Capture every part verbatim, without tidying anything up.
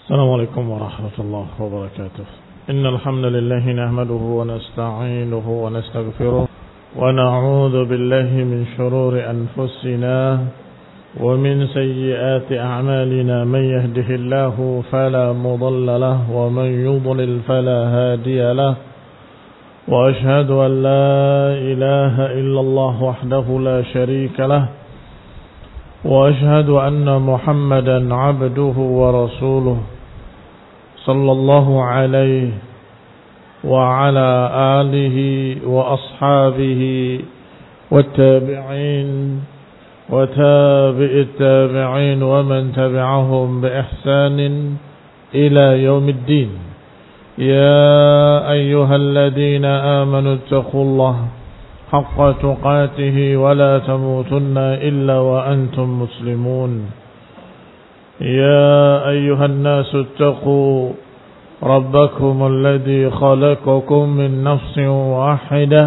السلام عليكم ورحمة الله وبركاته. إن الحمد لله نحمده ونستعينه ونستغفره ونعوذ بالله من شرور أنفسنا ومن سيئات أعمالنا. من يهده الله فلا مضل له ومن يضلل فلا هادي له. وأشهد أن لا إله إلا الله وحده لا شريك له. وأشهد أن محمدا عبده ورسوله صلى الله عليه وعلى آله وأصحابه والتابعين وتابع التابعين ومن تبعهم بإحسان إلى يوم الدين. يا أيها الذين آمنوا اتقوا الله حق تقاته ولا تموتن إلا وأنتم مسلمون. يا أيها الناس اتقوا ربكم الذي خلقكم من نفس واحدة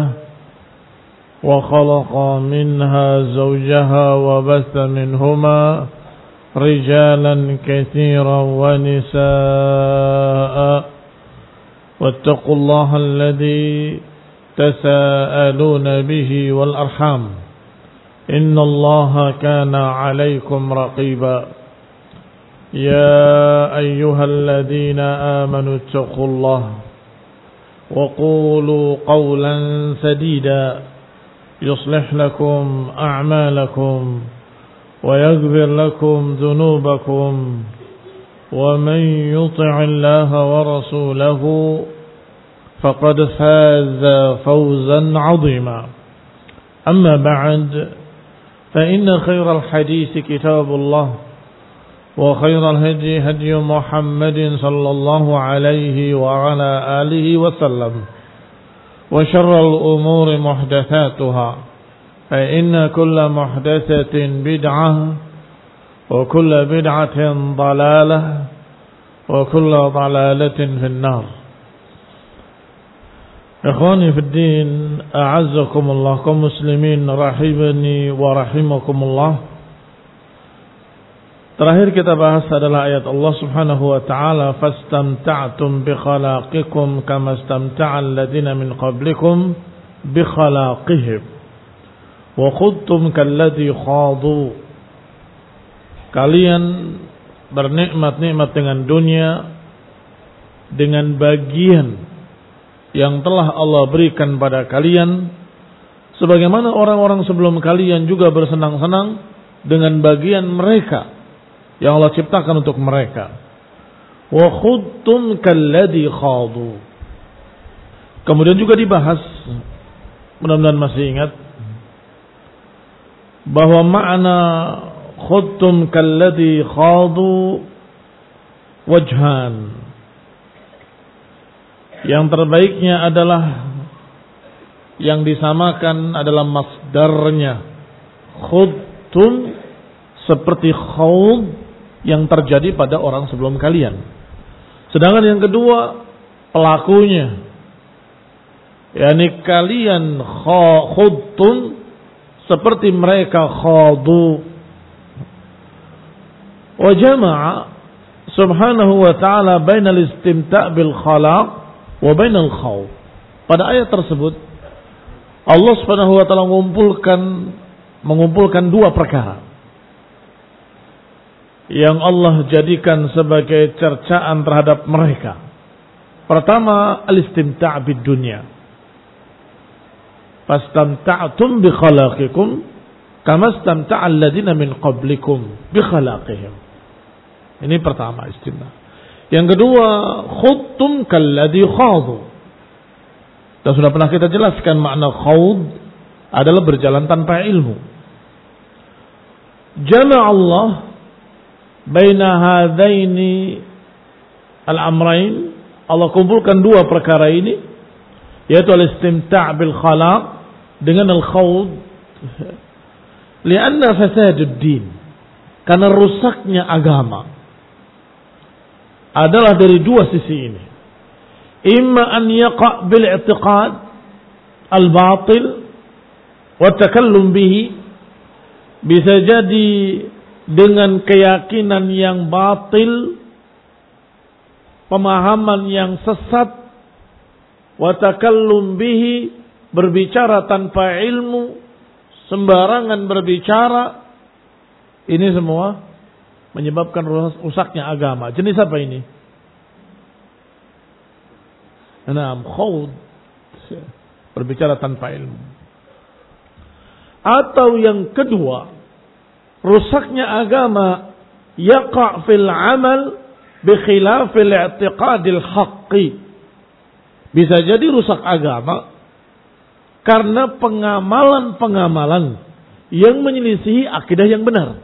وخلق منها زوجها وبث منهما رجالا كثيرا ونساء واتقوا الله الذي تساءلون به والأرحام إن الله كان عليكم رقيبا. يا أيها الذين آمنوا اتقوا الله وقولوا قولا سديدا يصلح لكم أعمالكم ويغفر لكم ذنوبكم ومن يطع الله ورسوله فقد فاز فوزا عظيما. أما بعد فإن خير الحديث كتاب الله وخير الهدي هدي محمد صلى الله عليه وعلى آله وسلم وشر الأمور محدثاتها فإن كل محدثة بدعة وكل بدعة ضلالة وكل ضلالة في النار. Ikhwani fid din, a'azzakumullah, kaum muslimin rahimani wa rahimakumullah. Terakhir kita bahas adalah ayat Allah Subhanahu wa taala, fastamta'tum bi khalaqikum kama istamta'al ladzina min qablikum bi khalaqihim wa khudtum kalladzi khadu. Kalian bernikmat-nikmat dengan dunia dengan bagian yang telah Allah berikan pada kalian, sebagaimana orang-orang sebelum kalian juga bersenang-senang dengan bagian mereka yang Allah ciptakan untuk mereka. Wa khudtum kalladzi khadu. Kemudian juga dibahas, mudah-mudahan masih ingat, bahwa makna khudtum kalladzi khadu wajhan. Yang terbaiknya adalah yang disamakan adalah masdarnya. Khudtum seperti khawd yang terjadi pada orang sebelum kalian. Sedangkan yang kedua pelakunya, yakni kalian khudtum seperti mereka khadu. Wa jama'a subhanahu wa ta'ala bainal istimta' bil khalaq wa bainal khawf. Pada ayat tersebut Allah Subhanahu wa taala mengumpulkan mengumpulkan dua perkara yang Allah jadikan sebagai cercaan terhadap mereka. Pertama, al-istimta' bid dunya. Fastamta'tum bi khalaqikum kama istamta'a alladziina min qablikum bi khalaqihim. Ini pertama, istimta'. Yang kedua, khudtum kalladzi khadu. Dan sudah pernah kita jelaskan makna khawd adalah berjalan tanpa ilmu. Jama' Allah baina hadaini al-amrain. Allah kumpulkan dua perkara ini, yaitu al-istimta' bil khalaq dengan al-khawd. Lianna fasadud din, karena rusaknya agama adalah dari dua sisi ini. Imma an yaqa' bil i'tiqad al-batil wa takallum bihi, bisa jadi dengan keyakinan yang batil pemahaman yang sesat, wa takallum bihi, berbicara tanpa ilmu, sembarangan berbicara, ini semua menyebabkan rusaknya agama. Jenis apa ini? Naam, khawd, berbicara tanpa ilmu. Atau yang kedua, rusaknya agama yaqa' fil amal bi khilafil i'tiqadil haqqi. Bisa jadi rusak agama karena pengamalan-pengamalan yang menyelisihi akidah yang benar.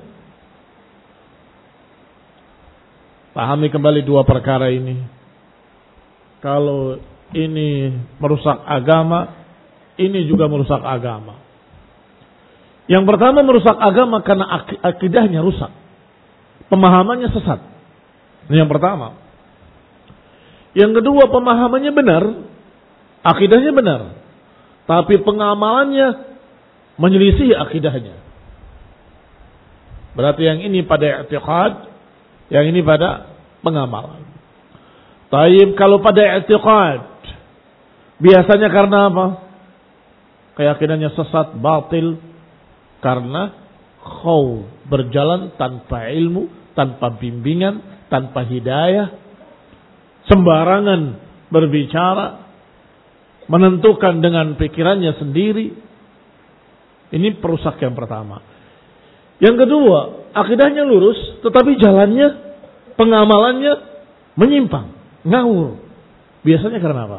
Pahami kembali dua perkara ini. Kalau ini merusak agama, ini juga merusak agama. Yang pertama merusak agama karena ak- akidahnya rusak. Pemahamannya sesat. Ini yang pertama. Yang kedua pemahamannya benar, akidahnya benar. Tapi pengamalannya menyelisih akidahnya. Berarti yang ini pada i'tiqad, yang ini pada pengamalan. Taib kalau pada i'tiqad, biasanya karena apa? Keyakinannya sesat, batil, karena khaw, berjalan tanpa ilmu, tanpa bimbingan, tanpa hidayah, sembarangan berbicara, menentukan dengan pikirannya sendiri. Ini perusak yang pertama. Yang kedua, akidahnya lurus, tetapi jalannya, pengamalannya menyimpang, ngawur. Biasanya karena apa?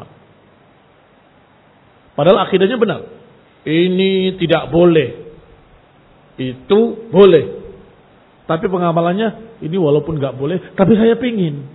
Padahal akidahnya benar. Ini tidak boleh, itu boleh. Tapi pengamalannya, ini walaupun nggak boleh, tapi saya pingin.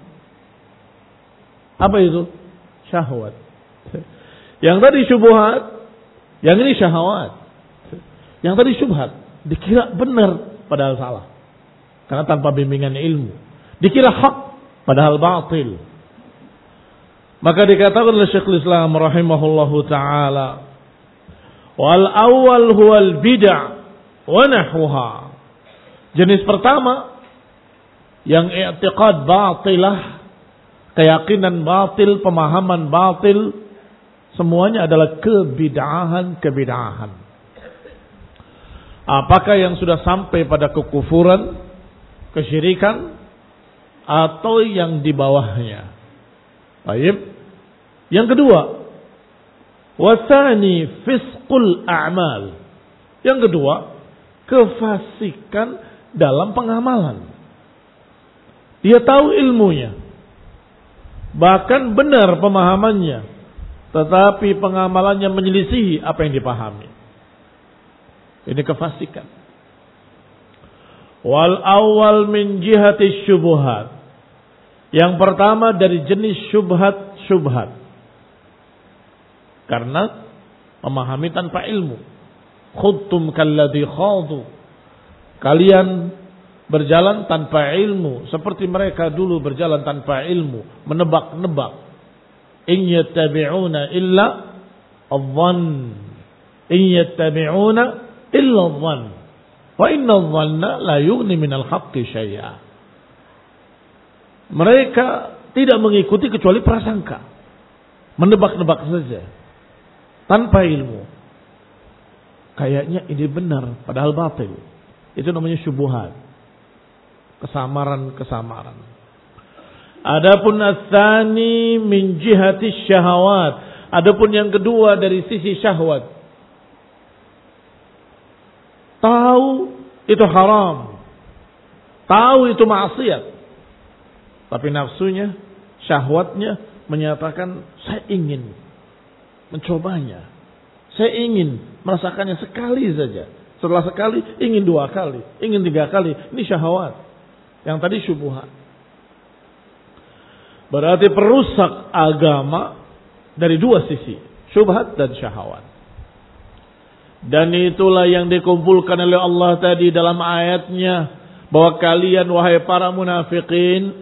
Apa itu? Syahwat. Yang tadi syubhat, yang ini syahwat. Yang tadi syubhat, dikira benar, padahal salah. Karena tanpa bimbingan ilmu. Dikira hak, padahal batil. Maka dikatakan oleh Syekhul Islam rahimahullahu ta'ala, wal awal huwal bid'ah wa nahwuha. Jenis pertama, yang i'tiqad batilah, keyakinan batil, pemahaman batil, semuanya adalah kebid'ahan-kebid'ahan. Apakah yang sudah sampai pada kekufuran, kesyirikan, atau yang di bawahnya. Baik. Yang kedua, wasani fisqul a'mal. Yang kedua, kefasikan dalam pengamalan. Dia tahu ilmunya, bahkan benar pemahamannya, tetapi pengamalannya menyelisihi apa yang dipahami. Ini kefasikan. Wal awal min jihati syubhat. Yang pertama dari jenis syubhat-syubhat. Karena memahami tanpa ilmu. Khudtum kalladhi khadu. Kalian berjalan tanpa ilmu, seperti mereka dulu berjalan tanpa ilmu, menebak-nebak. In yattabi'una illa adh-dhann. In yattabi'una illa adh-dhann. Wa inna adh-dhanna la yughni minal haqqi syai'a. Mereka tidak mengikuti kecuali prasangka. Menebak-nebak saja. Tanpa ilmu. Kayaknya ini benar, padahal batil. Itu namanya syubhat. Kesamaran-kesamaran. Adapun ats-tsani min jihati syahawat. Adapun yang kedua dari sisi syahwat. Tahu itu haram. Tahu itu maksiat. Tapi nafsunya, syahwatnya menyatakan saya ingin mencobanya. Saya ingin merasakannya sekali saja. Setelah sekali, ingin dua kali, ingin tiga kali. Ini syahwat. Yang tadi syubhat. Berarti perusak agama dari dua sisi. Syubhat dan syahwat. Dan itulah yang dikumpulkan oleh Allah tadi dalam ayatnya. Bahwa kalian wahai para munafikin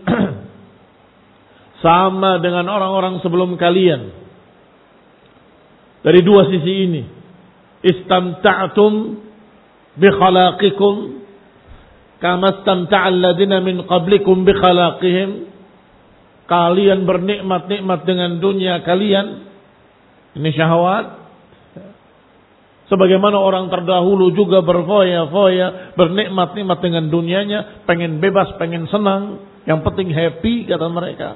sama dengan orang-orang sebelum kalian. Dari dua sisi ini. Istamta'tum bi khalaqikum kama istamta'al ladina min qablikum bi khalaqihim. kalian bernikmat-nikmat dengan dunia kalian. Ini syahwat. Sebagaimana orang terdahulu juga berfoya-foya, bernikmat-nikmat dengan dunianya, pengen bebas, pengen senang, yang penting happy kata mereka.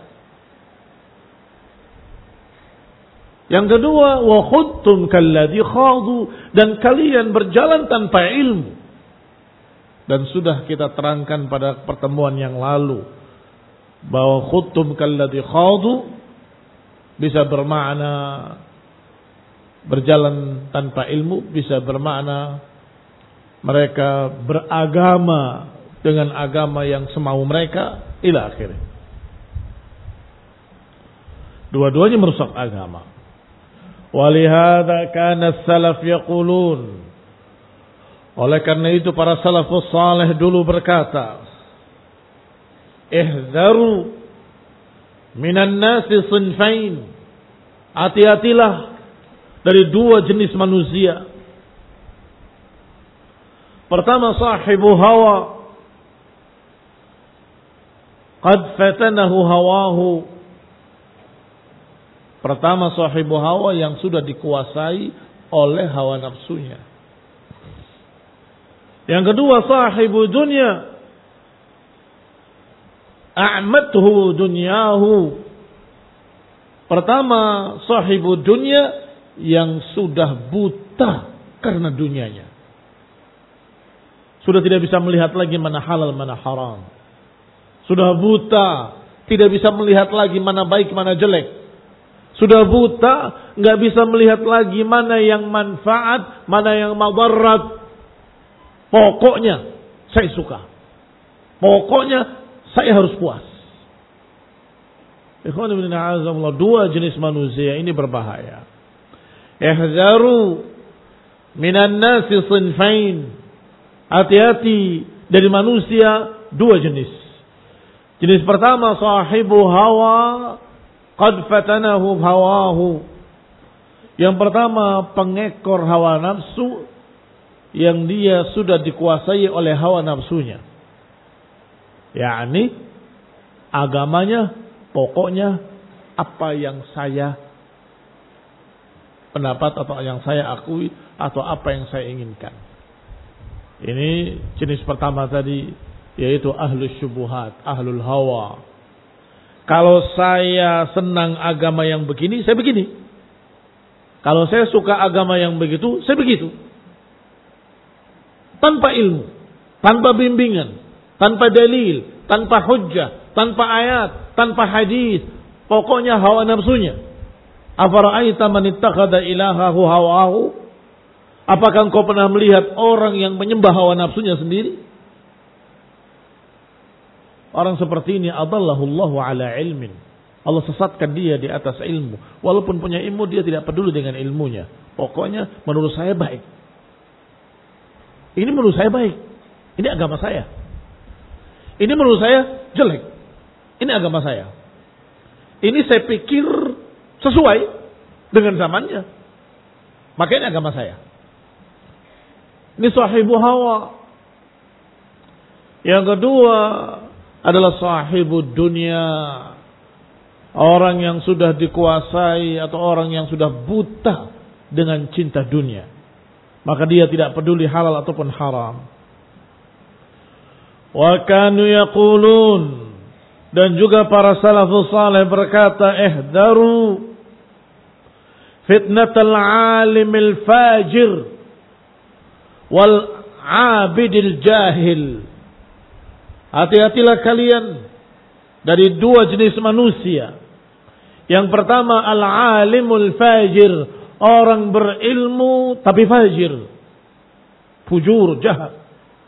Yang kedua, wa khudtum kalladhi khadu, dan kalian berjalan tanpa ilmu. Dan sudah kita terangkan pada pertemuan yang lalu bahwa khudtum kalladhi khadu bisa bermakna berjalan tanpa ilmu, bisa bermakna mereka beragama dengan agama yang semau mereka ila akhirnya. Dua-duanya merusak agama. Walihada kana salaf yaqulun, oleh karena itu para salafus saleh dulu berkata, ihzaru minan nasi sinfain, hati-hatilah dari dua jenis manusia. Pertama, sahibu hawa, qad fatanahu hawahu. Pertama, sahibu hawa yang sudah dikuasai oleh hawa nafsunya. Yang kedua, sahibu dunya, a'mathu dunyahu. Pertama, sahibu dunya yang sudah buta karena dunianya. Sudah tidak bisa melihat lagi mana halal, mana haram. Sudah buta, tidak bisa melihat lagi mana baik, mana jelek. Sudah buta, nggak bisa melihat lagi mana yang manfaat, mana yang madarat. Pokoknya saya suka. Pokoknya saya harus puas. Ikhwan ibn a'azamullah, dua jenis manusia ini berbahaya. Ihzaru minan nasi sinfain. Hati-hati dari manusia dua jenis. Jenis pertama, sahibu hawa qad fatanahu hawahu. Yang pertama, pengekor hawa nafsu yang dia sudah dikuasai oleh hawa nafsunya. yakni agamanya pokoknya apa yang saya pendapat atau yang saya akui atau apa yang saya inginkan. Ini jenis pertama tadi, yaitu ahlus syubuhat, ahlul hawa. Kalau saya senang agama yang begini, saya begini. Kalau saya suka agama yang begitu, saya begitu. Tanpa ilmu, tanpa bimbingan, tanpa dalil, tanpa hujjah, tanpa ayat, tanpa hadis. Pokoknya hawa nafsunya. Afara'aita man ittakhadha ilahahu hawahu? Apakah engkau pernah melihat orang yang menyembah hawa nafsunya sendiri? Orang seperti ini adallahullahu ala ilmin. Allah sesatkan dia di atas ilmu. Walaupun punya ilmu, dia tidak peduli dengan ilmunya. Pokoknya menurut saya baik. Ini menurut saya baik. Ini agama saya. Ini menurut saya jelek. Ini agama saya. Ini saya pikir sesuai dengan zamannya. Maka ini agama saya. Ini sahibu hawa. Yang kedua adalah sahibu dunia. Orang yang sudah dikuasai atau orang yang sudah buta dengan cinta dunia. Maka dia tidak peduli halal ataupun haram. Wa kanu yaqulun, dan juga para salafus saleh berkata, ihdaru fitnatal alimil fajir wal abidil jahil. Hati-hatilah kalian dari dua jenis manusia. Yang pertama, al-alimul fajir, orang berilmu tapi fajir, fujur, jahat.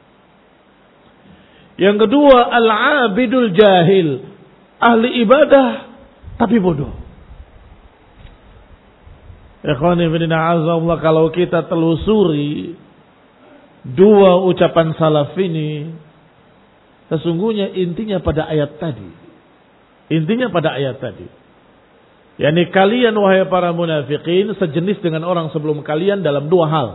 Yang kedua, al-abidul jahil, ahli ibadah tapi bodoh. Ikhwani fillah, azza kalau kita telusuri dua ucapan salaf ini, sesungguhnya intinya pada ayat tadi. Intinya pada ayat tadi. Yani kalian wahai para munafikin sejenis dengan orang sebelum kalian dalam dua hal.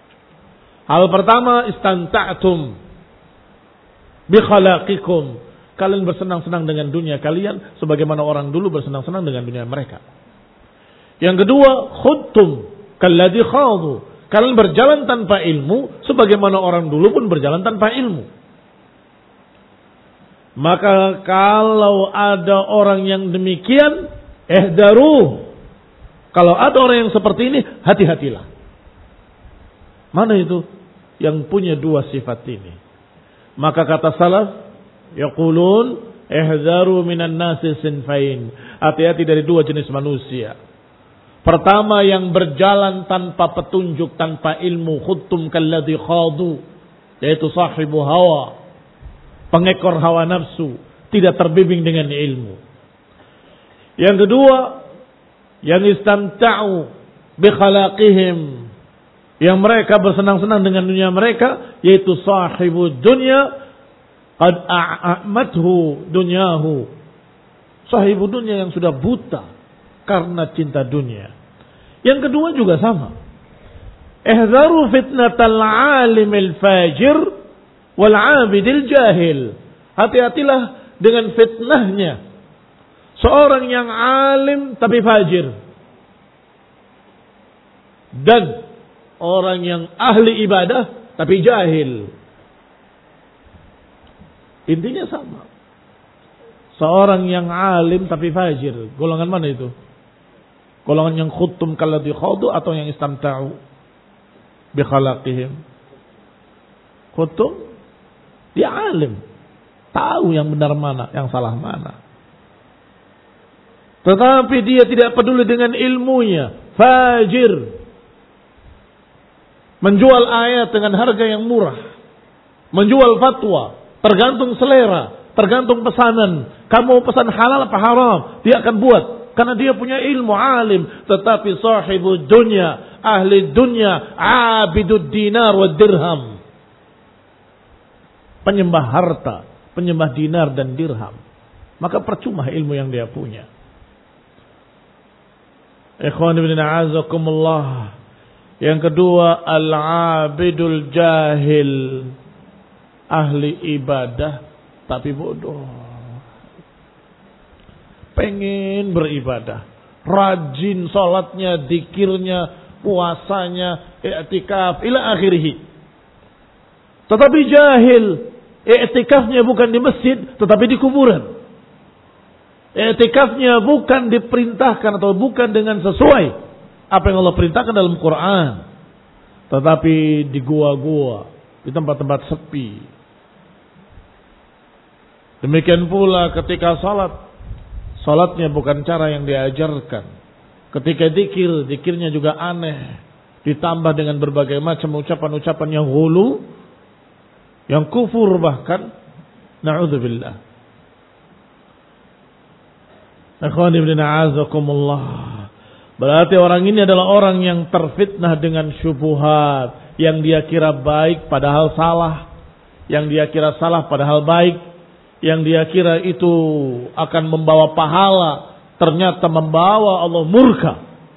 Hal pertama, istanta'tum bi khalaqikum. kalian bersenang-senang dengan dunia kalian sebagaimana orang dulu bersenang-senang dengan dunia mereka. Yang kedua, khudtum kalladzi khadu. Kalian berjalan tanpa ilmu sebagaimana orang dulu pun berjalan tanpa ilmu. Maka kalau ada orang yang demikian, ihdaru. Kalau ada orang yang seperti ini, hati-hatilah. Mana itu yang punya dua sifat ini? Maka kata salaf, yaqulun ihdaru minan nasi sinfain. Hati-hati dari dua jenis manusia. Pertama, yang berjalan tanpa petunjuk, tanpa ilmu, khuttum kalladzi khadu, yaitu sahibu hawa, pengekor hawa nafsu, tidak terbimbing dengan ilmu. Yang kedua, yang istamta'u bi khalaqihim, yang mereka bersenang-senang dengan dunia mereka, yaitu sahibu dunya qad a'mathu dunyahu, sahibu dunya yang sudah buta karena cinta dunia. Yang kedua juga sama. Ihzaru fitnatal alimil fajir wal abidil jahil. Hati-hatilah dengan fitnahnya seorang yang alim tapi fajir, dan orang yang ahli ibadah tapi jahil. Intinya sama. Seorang yang alim tapi fajir, golongan mana itu? Golongan yang khuttum kalladzi khadu atau yang istamta'u bi khalaqihim? Khuttum, dia alim, tahu yang benar mana, yang salah mana. Tetapi dia tidak peduli dengan ilmunya, fajir. Menjual ayat dengan harga yang murah, menjual fatwa, tergantung selera, tergantung pesanan. Kamu pesan halal apa haram, dia akan buat. Karena dia punya ilmu, alim. Tetapi sahibu dunya, ahli dunya, abidud dinar wa dirham, penyembah harta, penyembah dinar dan dirham. Maka percuma ilmu yang dia punya. Ikhwan ibn a'azakumullah. Yang kedua, al-abidul jahil, ahli ibadah tapi bodoh. Pengen beribadah, rajin sholatnya, dikirnya, puasanya, i'tikaf, ila akhirih. Tetapi jahil, i'tikafnya bukan di masjid, tetapi di kuburan. I'tikafnya bukan diperintahkan atau bukan dengan sesuai apa yang Allah perintahkan dalam Quran, tetapi di gua-gua, di tempat-tempat sepi. Demikian pula ketika salat, salatnya bukan cara yang diajarkan. Ketika zikir, zikirnya juga aneh, ditambah dengan berbagai macam ucapan-ucapan yang ghulu, yang kufur bahkan. Na'udzubillah. Ikhwan ibn a'azakumullah. Berarti orang ini adalah orang yang terfitnah dengan syubhat, yang dia kira baik padahal salah, yang dia kira salah padahal baik, yang dia kira itu akan membawa pahala, ternyata membawa Allah murka.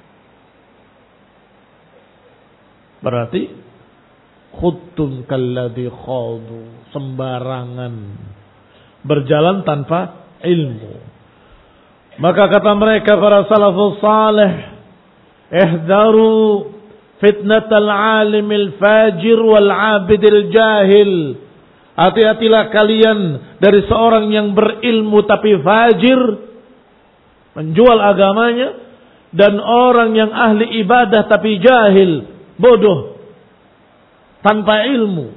Berarti khuttum kalladzi khadu, sembarangan, berjalan tanpa ilmu. Maka kata mereka para salafus salih, ihdaru fitnatal alimil fajir wal abidil jahil. Hati-hatilah kalian dari seorang yang berilmu tapi fajir, menjual agamanya, dan orang yang ahli ibadah tapi jahil, bodoh, tanpa ilmu.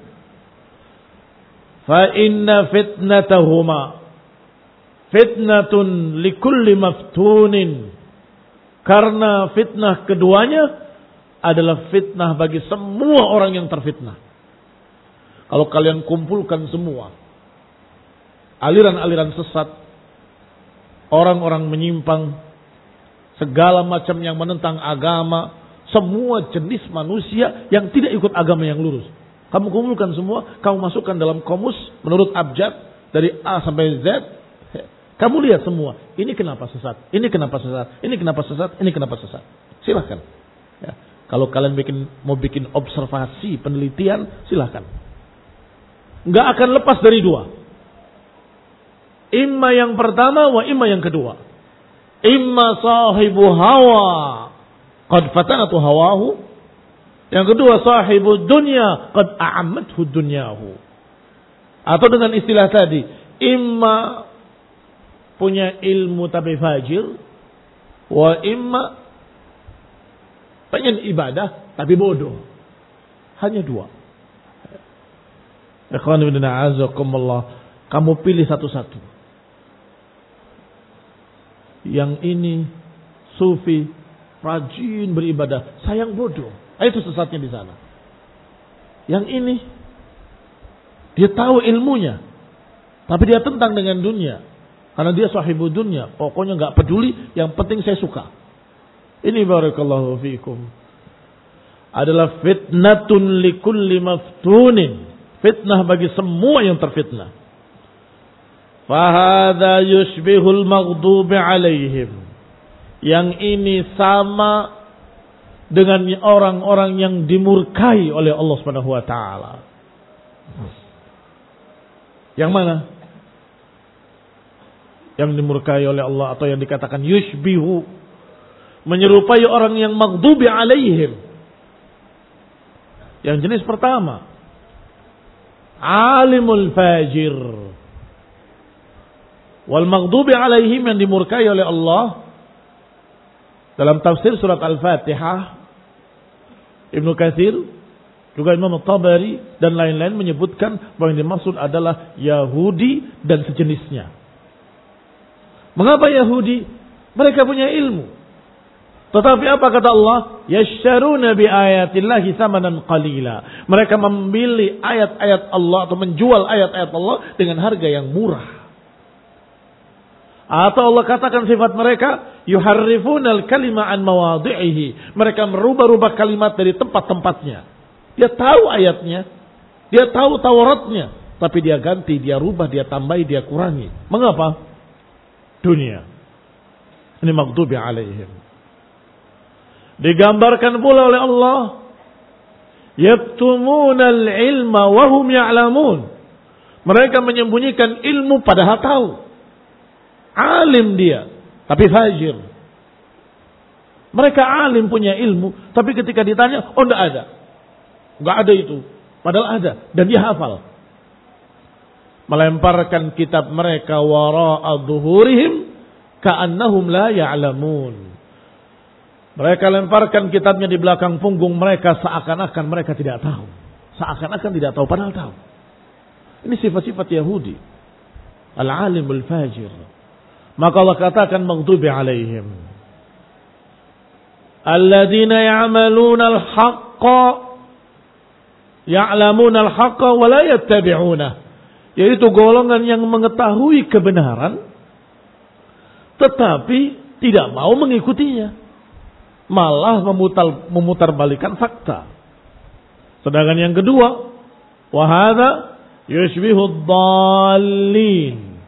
Fa inna fitnatahuma fitnatun likulli maftunin. Karena fitnah keduanya adalah fitnah bagi semua orang yang terfitnah. Kalau kalian kumpulkan semua aliran-aliran sesat, orang-orang menyimpang, segala macam yang menentang agama, semua jenis manusia yang tidak ikut agama yang lurus, kamu kumpulkan semua, kamu masukkan dalam komus menurut abjad dari A sampai Z, kamu lihat semua, ini kenapa sesat, ini kenapa sesat, ini kenapa sesat, ini kenapa sesat. Silahkan. Ya. Kalau kalian bikin, mau bikin observasi, penelitian, silahkan. Nggak akan lepas dari dua. Imma yang pertama wa imma yang kedua. Imma sahibu hawa qad fatanatu hawahu. Yang kedua sahibu dunya qad a'ammathu dunyahu. Atau dengan istilah tadi, imma punya ilmu tapi fajir, wa imma pengen ibadah tapi bodoh. Hanya dua. Ikhwan ibn a'azakumullah, kamu pilih satu-satu. Yang ini sufi, rajin beribadah, sayang bodoh. Itu sesatnya di sana. Yang ini dia tahu ilmunya, tapi dia tentang dengan dunia. Karena dia sahibu dunia, pokoknya nggak peduli, yang penting saya suka. Ini barakallahu fiikum adalah fitnatun likulli maftunin. Fitnah bagi semua yang terfitnah. Fahadha yushbihul maghdubi alaihim. Yang ini sama dengan orang-orang yang dimurkai oleh Allah Subhanahu wa taala. Yang mana? Yang dimurkai oleh Allah atau yang dikatakan yushbihu, menyerupai orang yang maghdubi alaihim. Yang jenis pertama, alimul fajir. Wal maghdubi alaihim, yang dimurkai oleh Allah. Dalam tafsir surat Al-Fatihah, Ibnu Katsir, juga Imam Tabari dan lain-lain menyebutkan bahwa yang dimaksud adalah Yahudi dan sejenisnya. Mengapa Yahudi? Mereka punya ilmu. Tetapi apa kata Allah? Yasharuna bi ayatillahi tsamanan qalila. Mereka membeli ayat-ayat Allah atau menjual ayat-ayat Allah dengan harga yang murah. Atau Allah katakan sifat mereka, yuharrifunal kalima an mawadhi'ihi. Mereka merubah-rubah kalimat dari tempat-tempatnya. Dia tahu ayatnya, dia tahu Tauratnya, tapi dia ganti, dia rubah, dia tambahi, dia kurangi. Mengapa? Dunia. Ini maghdubi alaihim. Digambarkan pula oleh Allah, yaktumunal ilma wa hum ya'lamun. Mereka menyembunyikan ilmu padahal tahu. Alim dia, tapi fajir. Mereka alim, punya ilmu, tapi ketika ditanya, oh enggak ada. Enggak ada itu. Padahal ada, dan dia hafal. Melemparkan kitab mereka wara'a dhuhurihim ka'annahum la ya'lamun. Mereka lemparkan kitabnya di belakang punggung mereka seakan-akan mereka tidak tahu. Seakan-akan tidak tahu, padahal tahu. Ini sifat-sifat Yahudi. Al-alimul fajir. Maka Allah katakan maghdubi alaihim. Alladzina ya'maluna al-haqqa ya'lamuna al-haqqa wa la yattabi'una. Yaitu golongan yang mengetahui kebenaran tetapi tidak mau mengikutinya. Malah memutar, memutarbalikan fakta. Sedangkan yang kedua, wa hadza yushbihu ad-dallin.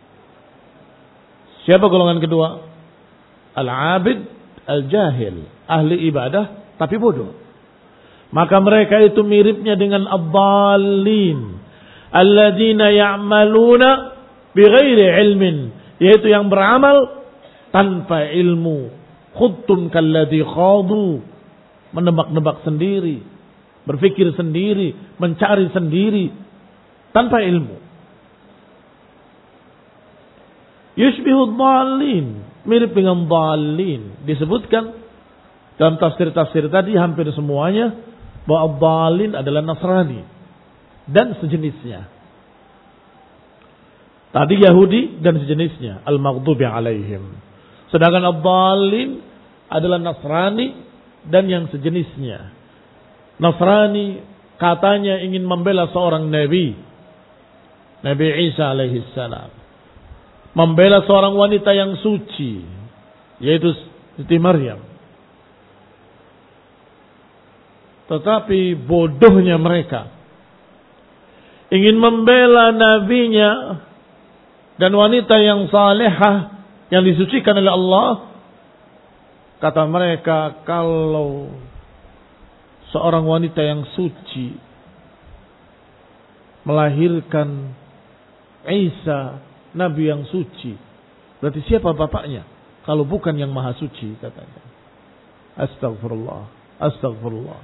Siapa golongan kedua? Al-abid al-jahil, ahli ibadah tapi bodoh. Maka mereka itu miripnya dengan ad-dallin, alladzina ya'maluna bighairi ilmin, yaitu yang beramal tanpa ilmu. Khuttum kalladzi khadu, menebak-nebak sendiri, berpikir sendiri, mencari sendiri tanpa ilmu. Yushbihu dhalin, mirip dengan dhalin. Disebutkan dalam tafsir-tafsir tadi hampir semuanya bahwa dhalin adalah Nasrani dan sejenisnya. Tadi Yahudi dan sejenisnya, al-maghdubi alaihim. Sedangkan ad-dhalin adalah Nasrani dan yang sejenisnya. Nasrani katanya ingin membela seorang nabi, Nabi Isa alaihi salam. Membela seorang wanita yang suci, yaitu Siti Maryam. Tetapi bodohnya mereka ingin membela nabinya dan wanita yang salehah yang disucikan oleh Allah. Kata mereka, kalau seorang wanita yang suci melahirkan Isa nabi yang suci. Berarti siapa bapaknya? Kalau bukan yang maha suci, katanya. Astagfirullah. Astagfirullah.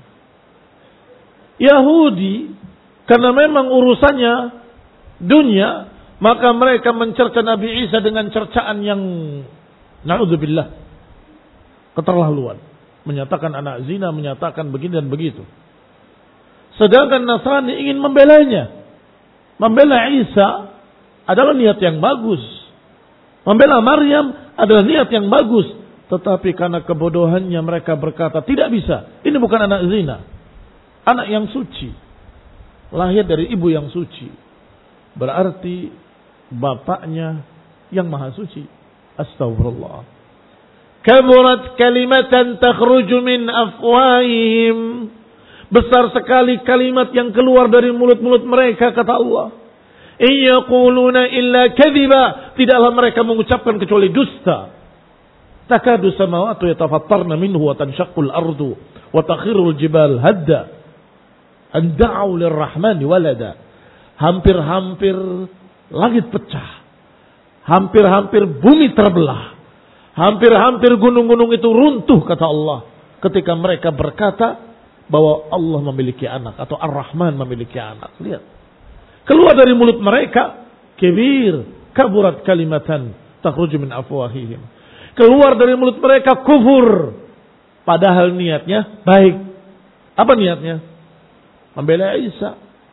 Yahudi, karena memang urusannya dunia, maka mereka mencerca Nabi Isa dengan cercaan yang na'udzubillah, keterlaluan. Menyatakan anak zina, menyatakan begini dan begitu. Sedangkan Nasrani ingin membelanya. Membela Isa adalah niat yang bagus. Membela Maryam adalah niat yang bagus. Tetapi karena kebodohannya mereka berkata, tidak bisa. Ini bukan anak zina. Anak yang suci. Lahir dari ibu yang suci. Berarti bapaknya yang maha suci. Astagfirullah. Kaburat kalimatan takhruju min afwahihim. Besar sekali kalimat yang keluar dari mulut-mulut mereka, kata Allah. Iyaquluna illa kadhiba. Tidaklah mereka mengucapkan kecuali dusta. Takadu samawati yatafattarna minhu wa tanshaqqul ardu wa takhirul jibal hadda. An da'u lirrahmani walada. Hampir-hampir langit pecah. Hampir-hampir bumi terbelah. Hampir-hampir gunung-gunung itu runtuh, kata Allah. Ketika mereka berkata bahwa Allah memiliki anak atau Ar-Rahman memiliki anak. Lihat. Keluar dari mulut mereka, kibir, kaburat kalimatan takhruju min afwahihim. Keluar dari mulut mereka kufur. Padahal niatnya baik. Apa niatnya? Membela Isa.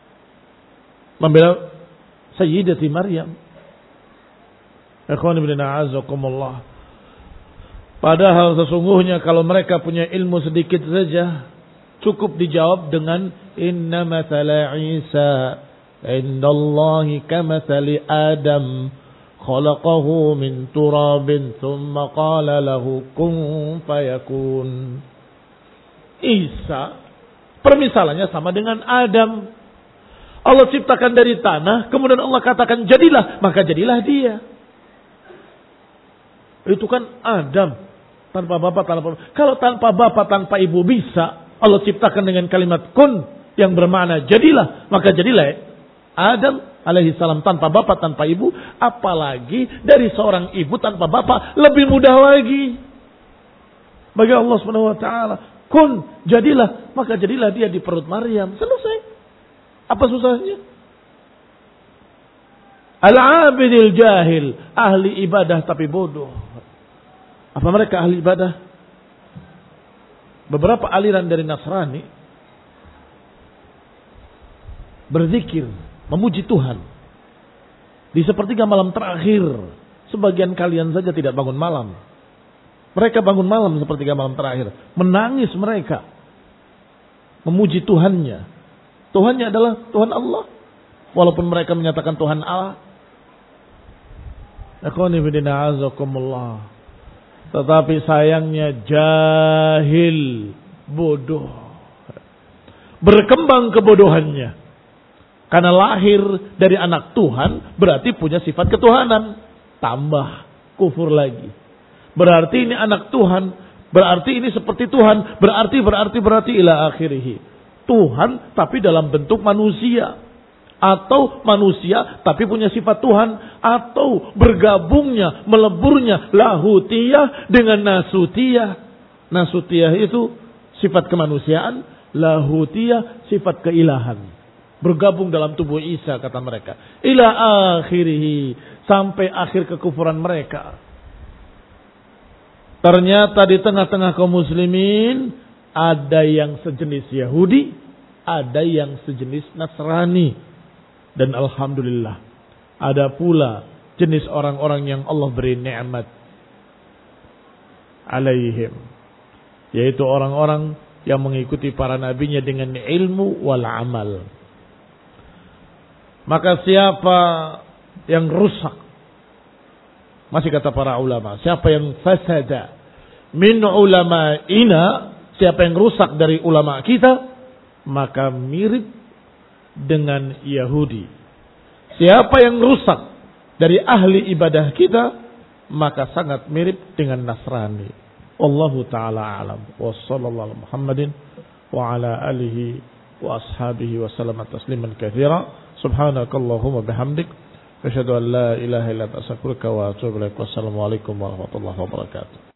Membela Sayyidati Maryam. Ikhwan ibn a'azakumullah. Padahal sesungguhnya kalau mereka punya ilmu sedikit saja, cukup dijawab dengan inna mathala Isa indallahi kamathali Adam khalaqahu min turabin thumma qala lahu kun fayakun. Isa permisalannya sama dengan Adam. Allah ciptakan dari tanah, kemudian Allah katakan jadilah, maka jadilah dia. Itu kan Adam tanpa bapak, tanpa bapak. Kalau tanpa bapak, tanpa ibu bisa Allah ciptakan dengan kalimat kun yang bermakna jadilah, maka jadilah Adam alaihi salam tanpa bapak, tanpa ibu. Apalagi dari seorang ibu tanpa bapak, lebih mudah lagi bagi Allah subhanahu wa ta'ala. Kun, jadilah, maka jadilah dia di perut Maryam. Selesai. Apa susahnya? Al-abidil jahil, ahli ibadah tapi bodoh. Apa mereka ahli ibadah? Beberapa aliran dari Nasrani berzikir, memuji Tuhan di sepertiga malam terakhir. Sebagian kalian saja tidak bangun malam. Mereka bangun malam sepertiga malam terakhir, menangis mereka, memuji Tuhannya. Tuhannya adalah Tuhan Allah, walaupun mereka menyatakan Tuhan Allah. Tetapi sayangnya jahil, bodoh, berkembang kebodohannya. Karena lahir dari anak Tuhan berarti punya sifat ketuhanan. Tambah kufur lagi. Berarti ini anak Tuhan, berarti ini seperti Tuhan, berarti berarti berarti ila akhirih. Tuhan tapi dalam bentuk manusia, atau manusia tapi punya sifat Tuhan, atau bergabungnya, meleburnya lahutiyah dengan nasutiyah. Nasutiyah itu sifat kemanusiaan, lahutiyah sifat keilahan. Bergabung dalam tubuh Isa, kata mereka. Ila akhirih, sampai akhir kekufuran mereka. Ternyata di tengah-tengah kaum muslimin ada yang sejenis Yahudi, ada yang sejenis Nasrani. Dan alhamdulillah, ada pula jenis orang-orang yang Allah beri nikmat alaihim, yaitu orang-orang yang mengikuti para nabinya dengan ilmu wal amal. Maka siapa yang rusak, masih kata para ulama, siapa yang fasada min ulama'ina, siapa yang rusak dari ulama kita, maka mirip dengan Yahudi. Siapa yang rusak dari ahli ibadah kita, maka sangat mirip dengan Nasrani. Wallahu ta'ala alam. Wa sallallahu Muhammadin wa ala alihi wa ashabihi wa sallam tasliman katsira. Subhanakallahumma bihamdik Asyhadu an la ilaha illa anta astaghfiruka wa atubu ilaik. Wassalamualaikum warahmatullahi wabarakatuh.